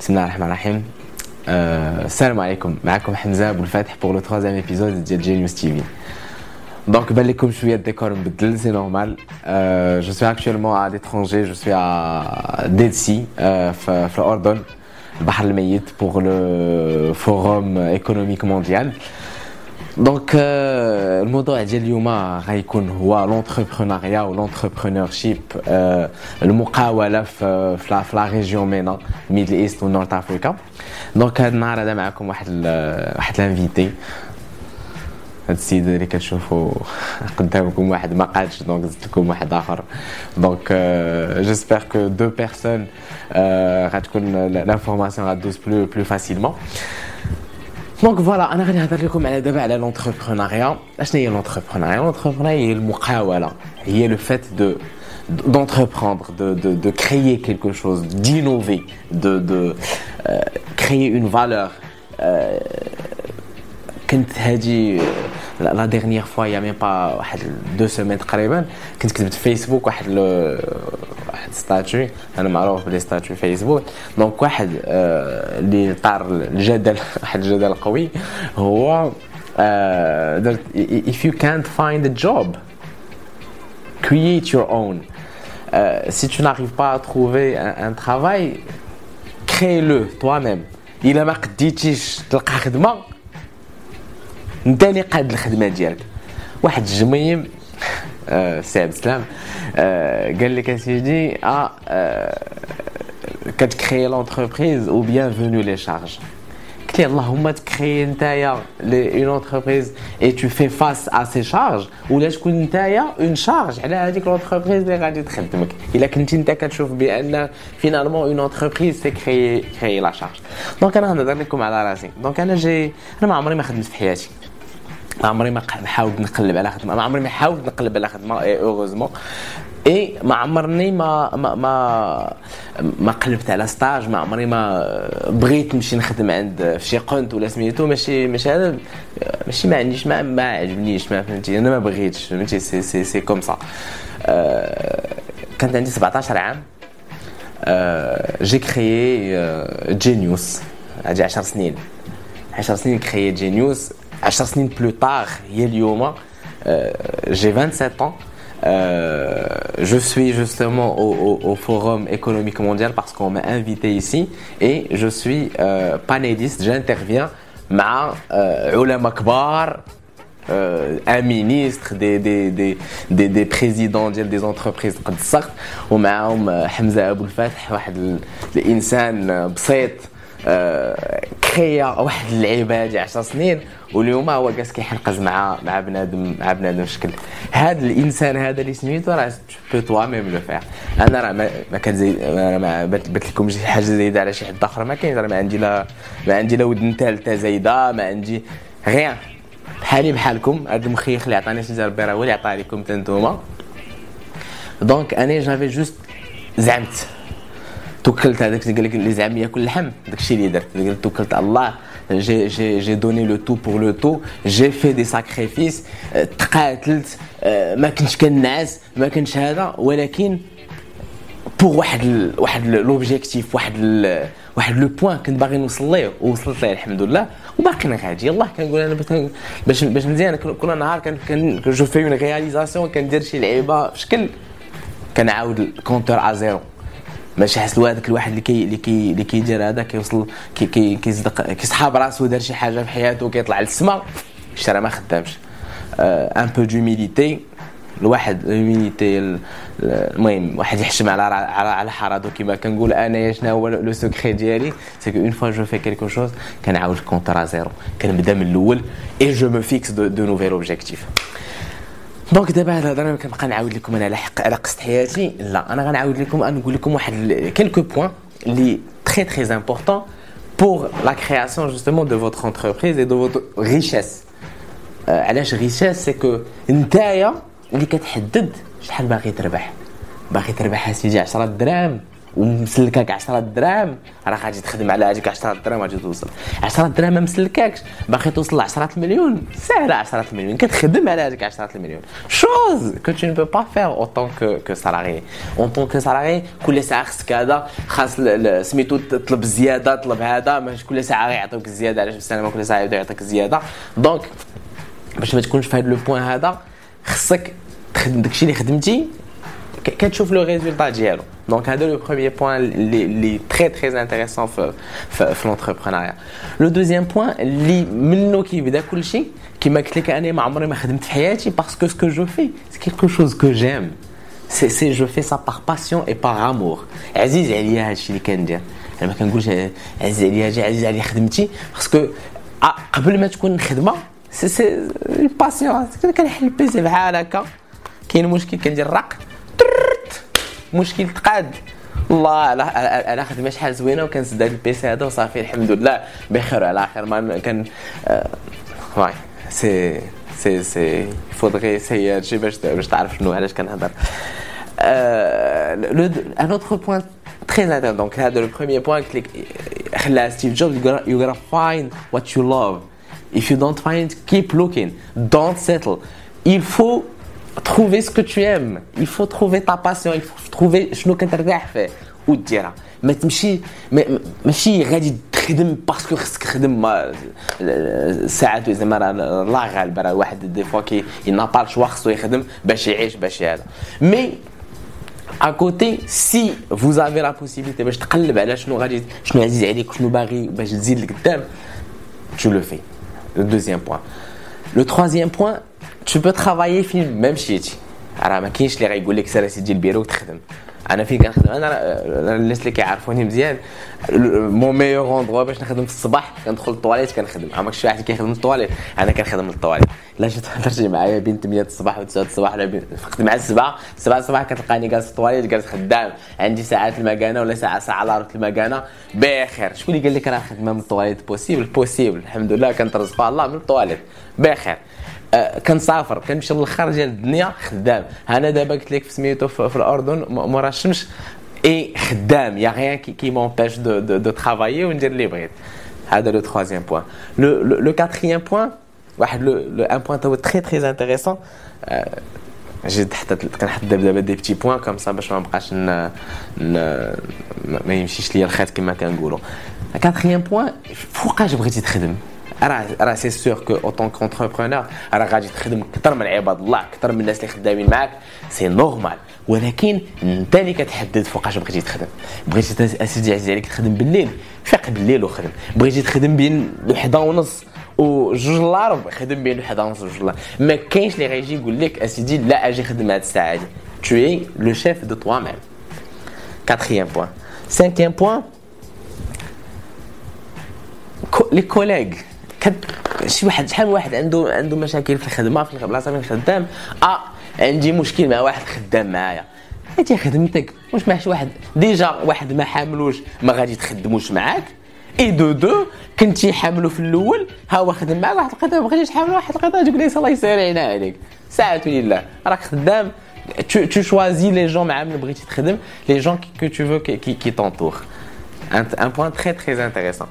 بسم الله الرحمن الرحيم. السلام عليكم، معكم حمزة بولفاتح pour le 3e épisode ديال Genius TV. Donc بان لكم شويه الديكور مبدل، سي نورمال. Je suis actuellement à l'étranger, je suis à Dead Sea في الأردن، البحر الميت pour le forum économique mondial. دونك الموضوع ديال اليوم غيكون هو لونتربرونيا و لونتربرونورشيب، المقاوله في لا ريجيون مينا ميدل ايست و نورث افريكا. دونك هذا النهار هذا معكم واحد لانفيتي، هاد السيد اللي كتشوفوا قدامكم واحد ما قادش، دونك زدت لكم واحد اخر. دونك جيسبر كو دو بيرسون غتكون لانفورماسيون غادوز بلو فاسيلمون. دونك فوالا، انا غادي نهضر لكم على دابا على لونتربرونيا. اشنو هي لونتربرونيا؟ لونتربرونيا هي المقاوله، هي لو فات d'entreprendre, de créer quelque chose, d'innover, de créer une valeur. كنت هادي لا ديرنيير فوا يا ميم با واحد 2 سيمين تقريبا، كنت كتبت في فيسبوك واحد ستاتيو، انا معروف بلي ستاتيو فيسبوك. دونك واحد اللي طار الجدل، واحد الجدل قوي، هو if you can't find a job, create your own. Si tu n'arrives pas à trouver un travail, crée-le toi-même. إلا ما قديتيش تلقى خدمة، انت اللي قاد الخدمه ديالك. واحد الجميم سي عبد السلام قال لك اسيدي كتكري لونتربريز او بيانفونو لي شارج. قلت لي اللهم تكري نتايا اون اونتربريز اي تو في فاس ا سي شارج، ولا تكون نتايا اون شارج على هذيك لونتربريز اللي غادي تخدمك. الا كنتي انت كتشوف بان فينالمون اون اونتربريز سي كري لا شارج. دونك انا غنهضر لكم على راسي. دونك انا ما عمري ما خدمت في حياتي، ما عمري ما حاولت نقلب على خدمه، ما عمري ما حاولت نقلب على خدمه اوغوزمون. اي ما عمرني ما قلبت على ستاج، ما عمري ما بغيت نمشي نخدم عند في شي قنت ولا سميتو، ماشي هذا، ماشي ما عنديش، ما عجبنيش، ما فهمتي، انا ما بغيتش، فهمتي. سي كوم سا. كانت عندي 17 عام، جي كريي جينيوس. هادي 10 سنين كريي جينيوس. 10 سنين بلو طار هي اليوم، j'ai 27 ans. Je suis justement au Forum économique mondial parce qu'on m'a invité ici et je suis panéliste. J'interviens مع علماء كبار، un ministre, des présidents des entreprises قد الصغر، ومعهم حمزة أبو الفاتح، واحد الإنسان بسيط كريا واحد اللعيبه هادي 10 سنين، واليوم هو جالس كيحنقز مع بنادم شكل. هذا الانسان هذا اللي سميتو راه تو توا ميم لو فير. انا راه ما كنزيد، انا ما بات لكم شي حاجه زايده على شي حد اخر، ما كاينش. راه ما عندي لا ودن ثالثه زايده، ما عندي غير بحالي بحالكم. هذا المخيخ اللي عطاني سيدي ربي راه هو اللي عطاه لكم حتى نتوما. دونك انا جافي جوست زعمت، توكلت. هذاك اللي قال لك اللي زعم ياكل اللحم، داكشي اللي درت. قلت توكلت على الله. j'ai donné le tout pour le tout, j'ai fait des sacrifices. تقاتلت، ما كنتش كنعس، ما كنتش هذا، ولكن بور واحد لوبجيكتيف، واحد لو بوين كنت باغي نوصل ليه، ووصلت ليه الحمد لله. وباقي غادي يلاه. كنقول انا باش مزيان كل نهار كان جو في اون رياليزاسيون، كندير شي لعيبه بشكل، كنعاود الكونتور ا زيرو. ماشي حسلوا هذاك الواحد اللي كيدير هذا، كيوصل كيصدق، كيسحاب راسو، دار شي حاجه في حياته، كيطلع للسما، راه ما خدامش. ان بو دوميليتي، الواحد لوميليتي. المهم واحد يحشم على حرادو كما كنقول انا. شنو هو لو سكري ديالي؟ سي كو اون فوا جو في كيلكو شوز، كنعاود الكونتر زيرو، كنبدا من الاول، اي جو مو فيكس دو نوفيل اوبجيكتيف. دونك دابا هذا انا كنبقى نعاود لكم انا على قصه حياتي. لا، انا غنعاود لكم، نقول لكم واحد كيلكو بوين اللي تري امبورطون pour la création justement de votre entreprise et de votre richesse. علاش richesse؟ c'est que نتايا اللي كتحدد شحال باغي تربح. باغي تربح اسيدي 10 دراهم، ومسلكاك 10 دراهم راه غادي تخدم على هذيك 10 دراهم غادي توصل 10 دراهم ما مسلكاكش باغي توصل ل 10 المليون ساهله 10 المليون كتخدم على هذيك 10 المليون chose que tu ne peux pas faire en tant que salarié en tant que salarié كل ساعه خصك هذا خاص سميتو تطلب زياده طلب هذا ماشي كل ساعه غيعطيوك الزياده علاش بالسلامه كل ساعه يبدا يعطيك الزياده دونك باش ما تكونش في هذا لو بوين هذا خصك تخدم داكشي اللي خدمتي كتشوف لو ريزولطا ديالو دونك هذا لو بروميير بوين اللي تري تري انتريسون في لونتربرونيا لو دوزيام بوين اللي منو كيبدا كلشي كيما قلت لك انا ما عمري ما خدمت في حياتي باسكو سكو جو في سي كيلكو شوز كو جيم سي جو في سا بار باسيون اي بار امور عزيز عليا هادشي اللي كندير انا ما كنقولش عزيز عليا عزيز عليا خدمتي باسكو قبل ما تكون خدمه سي باسيون كنحل البيسي بحال هكا كاين مشكل كندير الرق مشكل تقاد الله انا خدمه شحال زوينه وكنسد هذا البيسي هذا وصافي الحمد لله بخير على خير ما كان واي سي فودغي سي شي باش تعرف شنو علاش كنهضر un autre point très intéressant donc هذا le premier point خلى ستيف جوبز you gotta find what you love if you don't find keep looking don't settle il faut trouver ce que tu aimes il faut trouver ta passion il faut trouver شنو كترتاح فيه وديرها ما تمشي ماشي غادي تخدم باسكو خصك تخدم ساعات زعما الله غالب راه واحد دي فوا كي ينابال شوا خصو يخدم باش يعيش باش هذا مي à côté si vous avez la possibilité باش تقلب على شنو عزيز عليك شنو باغي باش تزيد لقدام tu le fais le deuxième point le troisième point tu peux travailler فين ما مشيتي راه ما كاينش اللي غايقول لك سير سيدي البيرو وتخدم انا فين كنخدم انا الناس اللي كيعرفوني مزيان مون ميور اندرو باش نخدم في الصباح كندخل للطواليت كنخدم عمرك شي واحد كيخدم للطواليت انا كنخدم للطواليت لا جيت ترجع معايا بين 8 الصباح و 9 الصباح ولا نخدم مع 7 الصباح كتلقاني جالس في الطواليت جالس خدام عندي ساعات المكانه ولا ساعه لا روت المكانه بخير شكون اللي قال لك راه خدمه من الطواليت بوسيبل الحمد لله كنترزق الله من الطواليت بخير كنسافر كنمشي للخر ديال الدنيا خدام انا دابا قلت لك في سميتو في الاردن مورا الشمس اي خدام يا غيان كي مونبيش دو ترافايي وندير اللي بغيت هذا لو troisième بوين لو quatrième بوين واحد لو ان بوين تو تري تري انتريسون جيت كنحط دابا دي بيتي بوين كوم سا باش ما نبقاش ما يمشيش ليا الخيط كما كنقولوا quatrième بوين فوقاش بغيتي تخدم راه سي سور كو او طون كونتربرونور راه غادي تخدم اكثر من عباد الله اكثر من الناس اللي خدامين معاك سي نورمال ولكن انت اللي كتحدد فوقاش بغيتي تخدم بغيتي اسيدي عزيز عليك تخدم بالليل فيق بالليل وخدم بغيتي تخدم بين 1:30 و 2:15 خدم بين 1:30 و 2:15 ما كاينش اللي غيجي يقول لك اسيدي لا اجي خدم هاد الساعه هادي tu es le chef de toi-même quatrième point cinquième point les collègues شي واحد شحال واحد عنده مشاكل في الخدمه في البلاصه فين خدام عندي مشكل مع واحد خدام معايا هاتي خدمتك واش ماشي واحد ديجا واحد ما حاملوش ما غادي تخدموش معاك اي دو كنتي حاملو في الاول ها هو خدم معاك واحد القطعه ما بغيتيش حامل واحد القطعه تقول لي الله يسهل عليك ساعه لله راك خدام tu choisis les gens مع من بغيتي تخدم les gens que tu veux qui t'entourent un point très très intéressant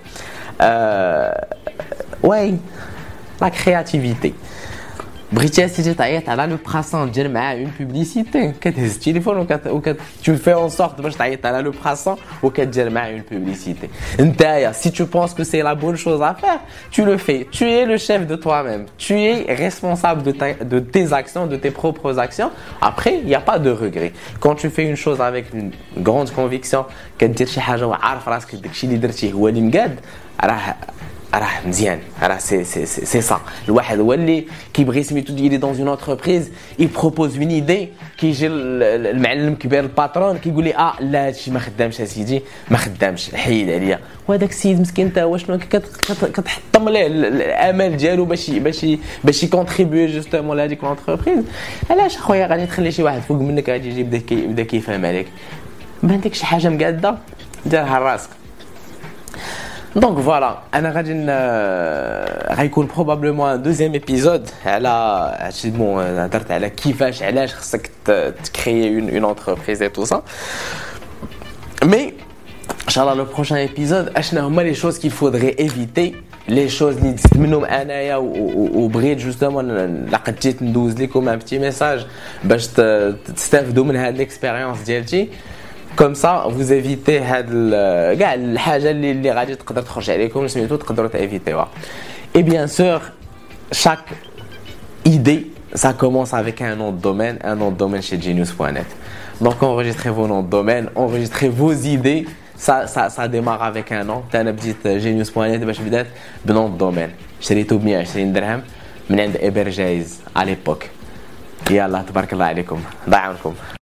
ouais la créativité بغيتي اسيدي تعيط على لو براسون دير معاه اون بوبليسيتي كتهز التليفون tu fais en sorte باش تعيط على لو براسون وكدير معاه اون بوبليسيتي نتايا si tu penses que c'est la bonne chose à faire tu le fais tu es le chef de toi-même tu es responsable de tes actions de tes propres actions après il y a pas de regret quand tu fais une chose avec une grande conviction كدير شي حاجه وعارف راسك داكشي اللي درتيه هو اللي مقاد راه مزيان راه سي صا الواحد هو اللي كيبغي سميتو يدير دون اون انتربريز يبروبوز اون ايدي كيجي المعلم كبير الباترون كيقول لي لا هادشي ما خدامش اسيدي ما خدامش حيد عليا وهذاك السيد مسكين تا هو شنو كتحطم ليه الامل ديالو باش يكونتريبيو جوستومون لهاديك لونتربريز علاش اخويا غادي تخلي شي واحد فوق منك غادي يجي يبدا كيفهم عليك ما عندك شي حاجه مقاده ديرها لراسك Donc voilà, انا غادي غيكون probablement un deuxième épisode على هادشي هضرت على كيفاش علاش خصك تكريي une entreprise et tout ça. Mais Inch'Allah, le prochain épisode, هما les choses qu'il faudrait éviter, les choses اللي نزيد منهم انايا وبغيت justement لقد جيت ندوز لكم un petit message باش تستافدوا من هذه الاكسبيريونس ديالتي. Comme ça, vous évitez كاع الحاجه اللي غادي تقدر تخرج عليكم سميتو تقدروا تيفيتيوها. Et bien sûr, chaque idée, ça commence avec un nom de domaine chez Genius.net. Donc enregistrez vos noms de domaine, enregistrez vos idées. Ça démarre avec un nom. Tu as une petite Genius.net باش بدات بنون de domaine. شريته ب 120 درهم من عند إبرجايز à l'époque. يلا تبارك الله عليكم ضاع عنكم.